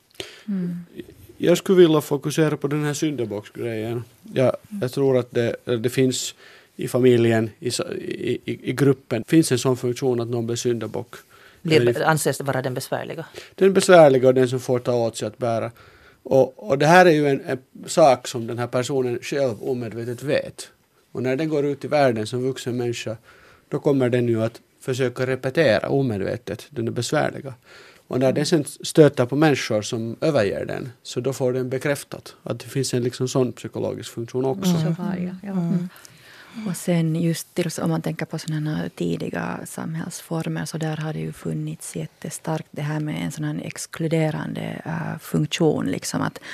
Speaker 3: Jag skulle vilja fokusera på den här syndabocksgrejen. Jag tror att det finns i familjen, i gruppen, finns en sån funktion att någon blir syndabock.
Speaker 1: Anses det vara den besvärliga?
Speaker 3: Den besvärliga och den som får ta åt sig att bära. Och det här är ju en sak som den här personen själv omedvetet vet. Och när den går ut i världen som vuxen människa, då kommer den ju att försöka repetera omedvetet den är besvärliga. Och när den sen stöter på människor som överger den, så då får den bekräftat att det finns en liksom sån psykologisk funktion också.
Speaker 2: Så var det, ja. Och sen just om man tänker på sådana tidiga samhällsformer, så där har det ju funnits jättestarkt det här med en sån här exkluderande funktion. Liksom att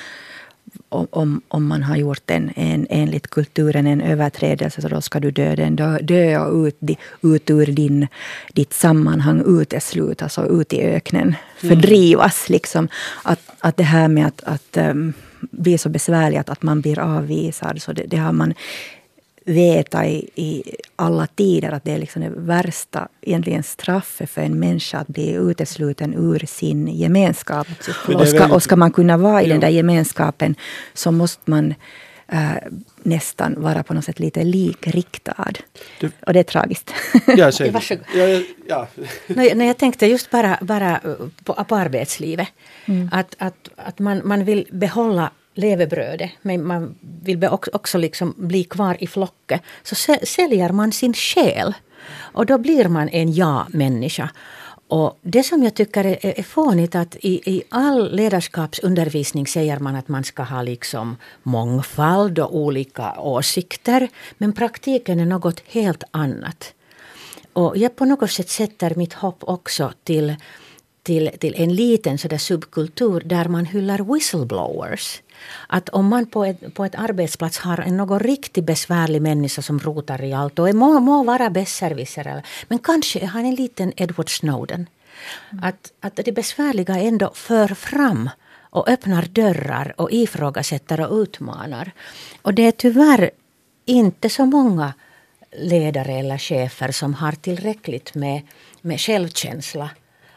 Speaker 2: om man har gjort enligt kulturen en överträdelse, så då ska du dö och ut ur ditt sammanhang, uteslut, alltså ut i öknen, fördrivas. Liksom. Att det här med att bli så besvärligt att man blir avvisad, så det har man veta i alla tider, att det är liksom det värsta egentligen straffet för en människa att bli utesluten ur sin gemenskap. Och ska man kunna vara i den där gemenskapen, så måste man nästan vara på något sätt lite likriktad. Och det är tragiskt.
Speaker 3: Ja, varsågod. Ja.
Speaker 4: Nej, jag tänkte just bara på arbetslivet. Att man vill behålla levebrödet, men man vill också liksom bli kvar i flocket, så säljer man sin själ. Och då blir man en ja-människa. Och det som jag tycker är fånigt, att i all ledarskapsundervisning säger man att man ska ha liksom mångfald och olika åsikter, men praktiken är något helt annat. Och jag på något sätt sätter mitt hopp också till en liten sådär subkultur där man hyllar whistleblowers. Att om man på ett arbetsplats har någon riktigt besvärlig människa som rotar i allt och må vara besserwisser, men kanske är han en liten Edward Snowden. Att det besvärliga ändå för fram och öppnar dörrar och ifrågasätter och utmanar. Och det är tyvärr inte så många ledare eller chefer som har tillräckligt med självkänsla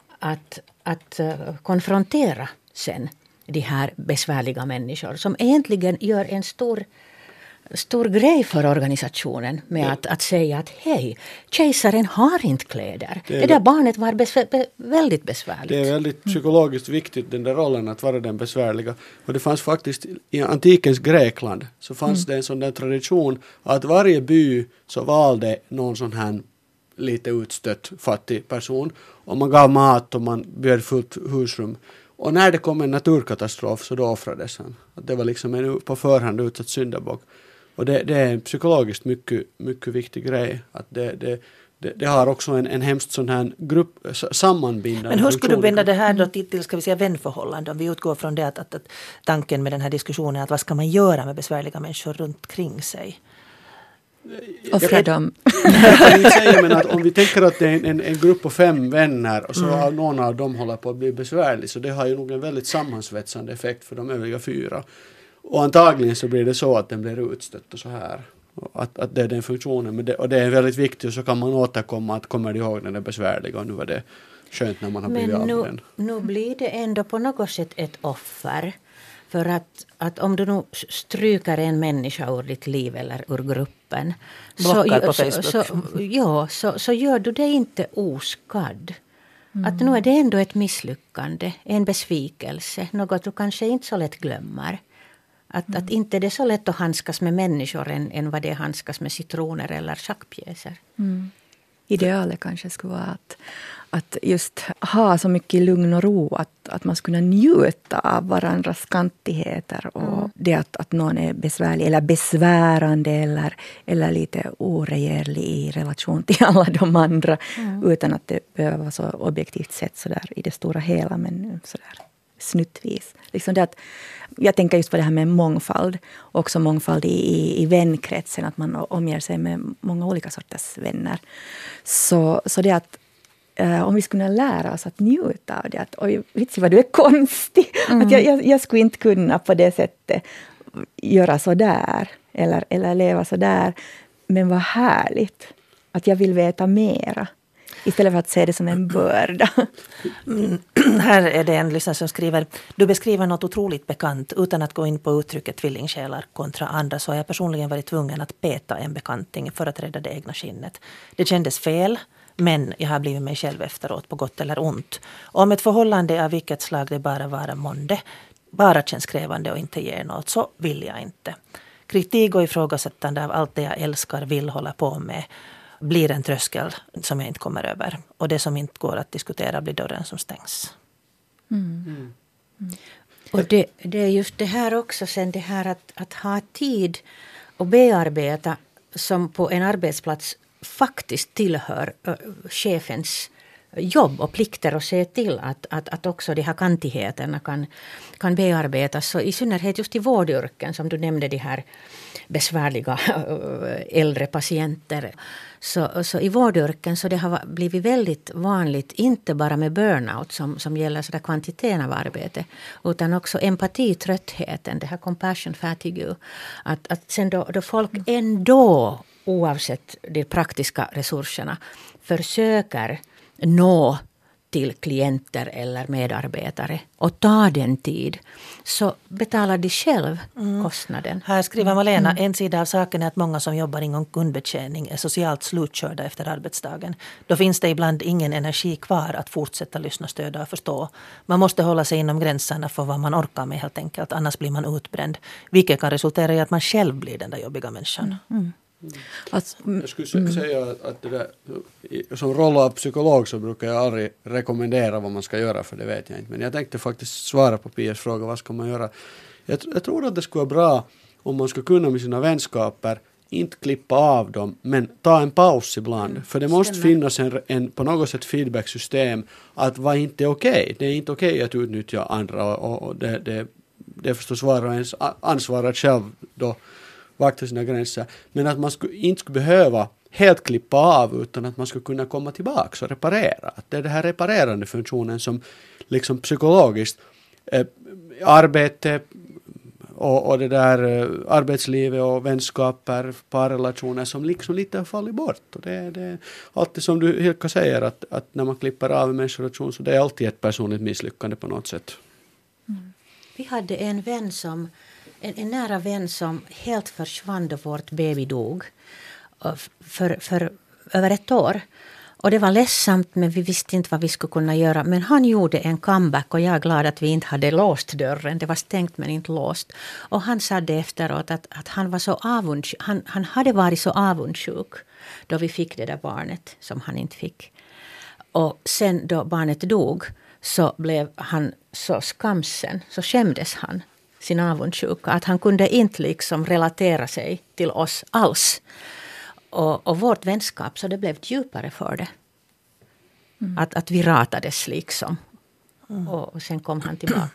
Speaker 4: att konfrontera sen de här besvärliga människor som egentligen gör en stor grej för organisationen med att säga att hej, kejsaren har inte kläder. Det där barnet var väldigt besvärligt. Det
Speaker 3: är väldigt psykologiskt viktigt, den där rollen att vara den besvärliga. Och det fanns faktiskt i antikens Grekland så fanns det en sån där tradition att varje by så valde någon sån här lite utstött fattig person. Och man gav mat och man bjöd fullt husrum. Och när det kom en naturkatastrof så då offrades han. Att det var liksom en på förhand utsatt syndabock. Och det är en psykologiskt mycket viktig grej. Att det har också en hemskt sån här grupp sammanbindande.
Speaker 1: Men hur skulle du binda det här då till ska vi säga vänförhållande? Om vi utgår från det att tanken med den här diskussionen är att vad ska man göra med besvärliga människor runt kring sig?
Speaker 2: Offra dem.
Speaker 3: Jag kan inte säga, men att om vi tänker att det är en grupp på 5 vänner och så någon av dem håller på att bli besvärlig, så det har ju nog en väldigt sammansvetsande effekt för de övriga 4. Och antagligen så blir det så att den blir utstött och så här. Att det är den funktionen. Och det är väldigt viktigt, och så kan man återkomma att kommer du ihåg den är besvärliga och nu var det skönt när man har blivit av med den.
Speaker 4: Men nu blir det ändå på något sätt ett offer. För att om du nu stryker en människa ur ditt liv eller ur gruppen.
Speaker 1: Blockar på Facebook.
Speaker 4: Så gör du det inte oskadd. Att nu är det ändå ett misslyckande, en besvikelse. Något du kanske inte så lätt glömmer. Att inte det är så lätt att handskas med människor än vad det är handskas med citroner eller schackpjäser.
Speaker 2: Idealet kanske skulle vara att just ha så mycket lugn och ro att man skulle njuta av varandras kantigheter och det att någon är besvärlig eller besvärande eller lite oregerlig i relation till alla de andra utan att det behöver vara så objektivt sett så där i det stora hela, men så där snuttvis. Liksom det att, jag tänker just på det här med mångfald, också mångfald i vänkretsen, att man omger sig med många olika sorters vänner. Så det att om vi skulle lära oss att njuta av det, att oj, vitsi vad du är konstig, att jag skulle inte kunna på det sättet göra så där eller leva så där, men vad härligt att jag vill veta mera istället för att se det som en börda.
Speaker 1: Här är det en lyssnare som skriver: du beskriver något otroligt bekant. Utan att gå in på uttrycket tvillingsjälar kontra andra så har jag personligen varit tvungen att peta en bekanting för att rädda det egna skinnet. Det kändes fel, men jag har blivit mig själv efteråt på gott eller ont. Om ett förhållande av vilket slag det bara vara månde bara känns krävande och inte ger något, så vill jag inte. Kritik och ifrågasättande av allt det jag älskar, vill hålla på med blir en tröskel som jag inte kommer över. Och det som inte går att diskutera blir dörren som stängs.
Speaker 4: Och det är just det här också, sen det här att ha tid och bearbeta som på en arbetsplats faktiskt tillhör chefens jobb och plikter och se till att också de här kantigheterna kan bearbetas. Så i synnerhet just i vårdyrken som du nämnde, de här besvärliga äldre patienter. Så i vårdyrken så det har blivit väldigt vanligt, inte bara med burnout som gäller sådär kvantiteten av arbete, utan också empatitröttheten, det här compassion fatigue. Att sen då folk ändå, oavsett de praktiska resurserna, försöker nå till klienter eller medarbetare och ta den tid, så betalar de själv kostnaden.
Speaker 1: Här skriver Malena, en sida av saken är att många som jobbar inom kundbetjäning är socialt slutkörda efter arbetsdagen. Då finns det ibland ingen energi kvar att fortsätta lyssna, stödja och förstå. Man måste hålla sig inom gränserna för vad man orkar med helt enkelt, annars blir man utbränd. Vilket kan resultera i att man själv blir den där jobbiga människan.
Speaker 3: Jag skulle säga att det där, som roll av psykolog så brukar jag aldrig rekommendera vad man ska göra, för det vet jag inte. Men jag tänkte faktiskt svara på Pias fråga, vad ska man göra? Jag tror att det skulle vara bra om man skulle kunna med sina vänskaper inte klippa av dem, men ta en paus ibland. För det måste finnas en på något sätt feedbacksystem att vad inte är okej. Det är inte okej att utnyttja andra och det är förstås var och ens ansvar att själv då vakta sina gränser, men att man inte skulle behöva helt klippa av, utan att man skulle kunna komma tillbaka och reparera. Att det är den här reparerande funktionen som liksom psykologiskt arbete och det där arbetslivet och vänskaper, parrelationer som liksom lite har fallit bort. Och det är alltid som du Hilka säger, att när man klipper av en människorelation så det är alltid ett personligt misslyckande på något sätt.
Speaker 4: Vi hade en vän en nära vän som helt försvann då vårt baby dog för över ett år. Och det var ledsamt, men vi visste inte vad vi skulle kunna göra. Men han gjorde en comeback och jag är glad att vi inte hade låst dörren. Det var stängt men inte låst. Och han sa det efteråt att han var så avundsjuk. Han hade varit så avundsjuk då vi fick det där barnet som han inte fick. Och sen då barnet dog så blev han så skamsen, så skämdes han sin avundsjuka, att han kunde inte liksom relatera sig till oss alls. Och vårt vänskap, så det blev djupare för det. Att vi ratades liksom. Och sen kom han tillbaka.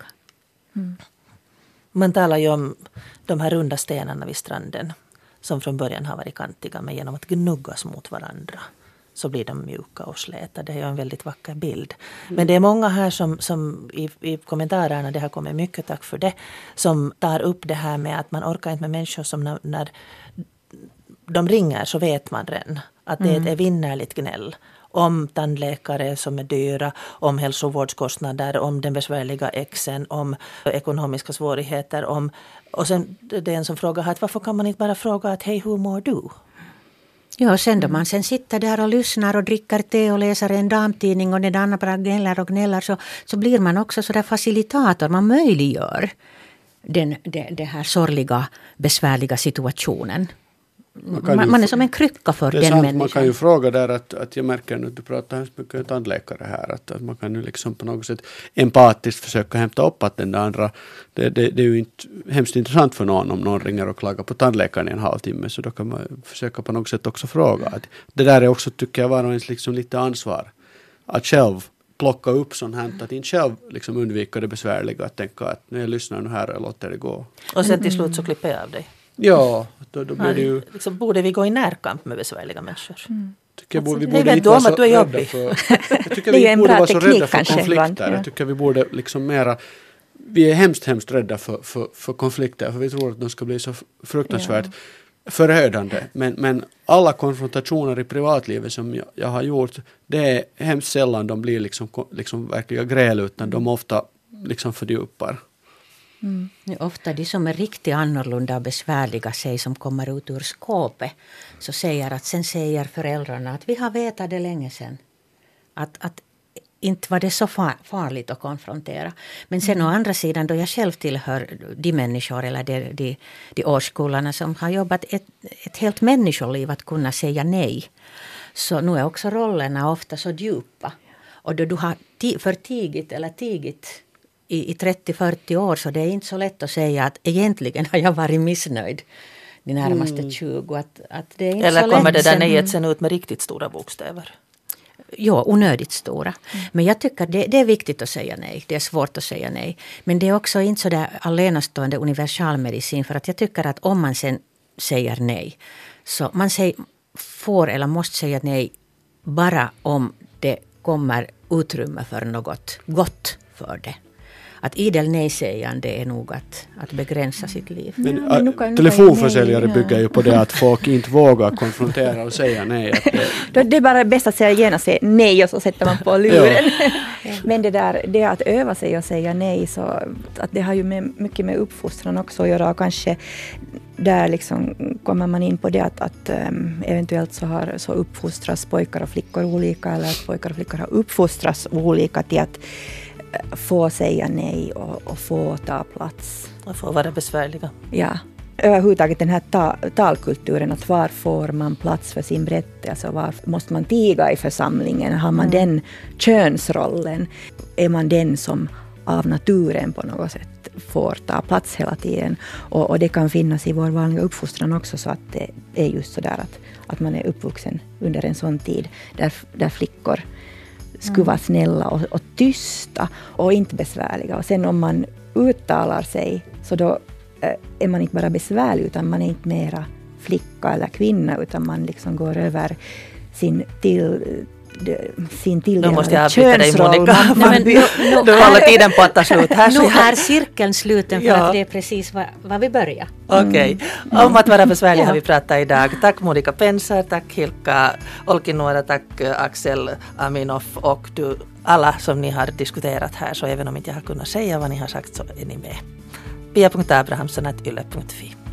Speaker 1: Man talar ju om de här runda stenarna vid stranden som från början har varit kantiga, men genom att gnuggas mot varandra så blir de mjuka och släta. Det är ju en väldigt vacker bild. Men det är många här som i kommentarerna, det har kommit mycket, tack för det, som tar upp det här med att man orkar inte med människor som när de ringer så vet man redan att det är ett evinnerligt gnäll om tandläkare som är dyra, om hälsovårdskostnader, om den besvärliga exen, om ekonomiska svårigheter. Och sen det är en som frågar att varför kan man inte bara fråga att hej, hur mår du?
Speaker 4: Ja, sen då man sen sitter där och lyssnar och dricker te och läser en damtidning och den andra bara gnäller och gnäller så blir man också så där facilitator. Man möjliggör det här sorgliga, besvärliga situationen. Man är som en krycka för den människan.
Speaker 3: Man kan ju fråga där att jag märker nu att du pratar hemskt mycket om tandläkare här. Att man kan ju liksom på något sätt empatiskt försöka hämta upp att den andra, det är ju inte hemskt intressant för någon om någon ringer och klagar på tandläkaren i en halvtimme. Så då kan man försöka på något sätt också fråga. Att det där är också, tycker jag, var ens liksom lite ansvar. Att själv plocka upp sånt här, att inte själv liksom undvika det besvärliga. Att tänka att när jag lyssnar nu här och låter det gå.
Speaker 1: Och sen till slut så klipper jag av dig.
Speaker 3: Ja, då blir det ju...
Speaker 1: Liksom, borde vi gå i närkamp med besvärliga människor?
Speaker 3: Tycker vi
Speaker 1: det
Speaker 3: borde
Speaker 1: är
Speaker 3: inte vara så
Speaker 1: att du är
Speaker 3: rädda
Speaker 1: jobbig.
Speaker 3: jag tycker vi borde vara så rädda för konflikter. Jag tycker vi borde liksom mera... Vi är hemskt rädda för konflikter. För vi tror att de ska bli så fruktansvärt förödande. Men alla konfrontationer i privatlivet som jag har gjort, det är hemskt sällan de blir liksom verkliga gräl, utan de ofta liksom fördjupar.
Speaker 4: Ofta de som är riktigt annorlunda och besvärliga sig som kommer ut ur skåpet så sen säger föräldrarna att vi har vetat det länge sedan. Att inte var det så farligt att konfrontera. Men sen å andra sidan, då jag själv tillhör de människor eller de årskullarna som har jobbat ett helt människoliv att kunna säga nej. Så nu är också rollerna ofta så djupa. Och då du har förtigit eller tigit i 30-40 år, så det är inte så lätt att säga att egentligen har jag varit missnöjd de närmaste 20. Att det är inte
Speaker 1: eller
Speaker 4: så
Speaker 1: kommer
Speaker 4: lätt
Speaker 1: det där nejet sen ut med riktigt stora bokstäver?
Speaker 4: Ja, onödigt stora. Men jag tycker det är viktigt att säga nej. Det är svårt att säga nej. Men det är också inte så där allenastående universalmedicin, för att jag tycker att om man sen säger nej, så man får eller måste säga nej bara om det kommer utrymme för något gott för det. Att idel nej-sägande är nog att begränsa sitt liv.
Speaker 3: Men telefonförsäljare bygger ju på det att folk inte vågar konfrontera och säga nej.
Speaker 2: Det är bara bäst att säga gärna nej och så sätter man på luren. Men det att öva sig och säga nej, så att det har ju mycket med uppfostran också att göra. Och kanske där liksom kommer man in på det att eventuellt så uppfostras pojkar och flickor olika, eller att pojkar och flickor har uppfostrats olika till att få säga nej och få ta plats.
Speaker 1: Och få vara besvärliga.
Speaker 2: Ja. Överhuvudtaget den här talkulturen, att var får man plats för sin berättelse, var måste man tiga i församlingen, har man den könsrollen, är man den som av naturen på något sätt får ta plats hela tiden, och det kan finnas i vår vanliga uppfostran också, så att det är just så där att man är uppvuxen under en sån tid där flickor skulle vara snälla och tysta och inte besvärliga. Och sen om man uttalar sig, så då är man inte bara besvärlig, utan man är inte mera flicka eller kvinna, utan man liksom går över sin tilldelade
Speaker 1: nu måste jag avbryta dig, Monica.
Speaker 4: Du
Speaker 1: håller tiden på att ta slut här.
Speaker 4: Nu är cirkeln sluten, för att det är precis vad vi börjar.
Speaker 1: Okej. Om att vara besvärlig har vi pratat idag. Tack Monica Penser, tack Hilkka Olkinuora, tack Axel Aminoff och du alla som ni har diskuterat här. Så även om inte jag har kunnat säga vad ni har sagt, så är ni med. Pia.abrahamsson@yle.fi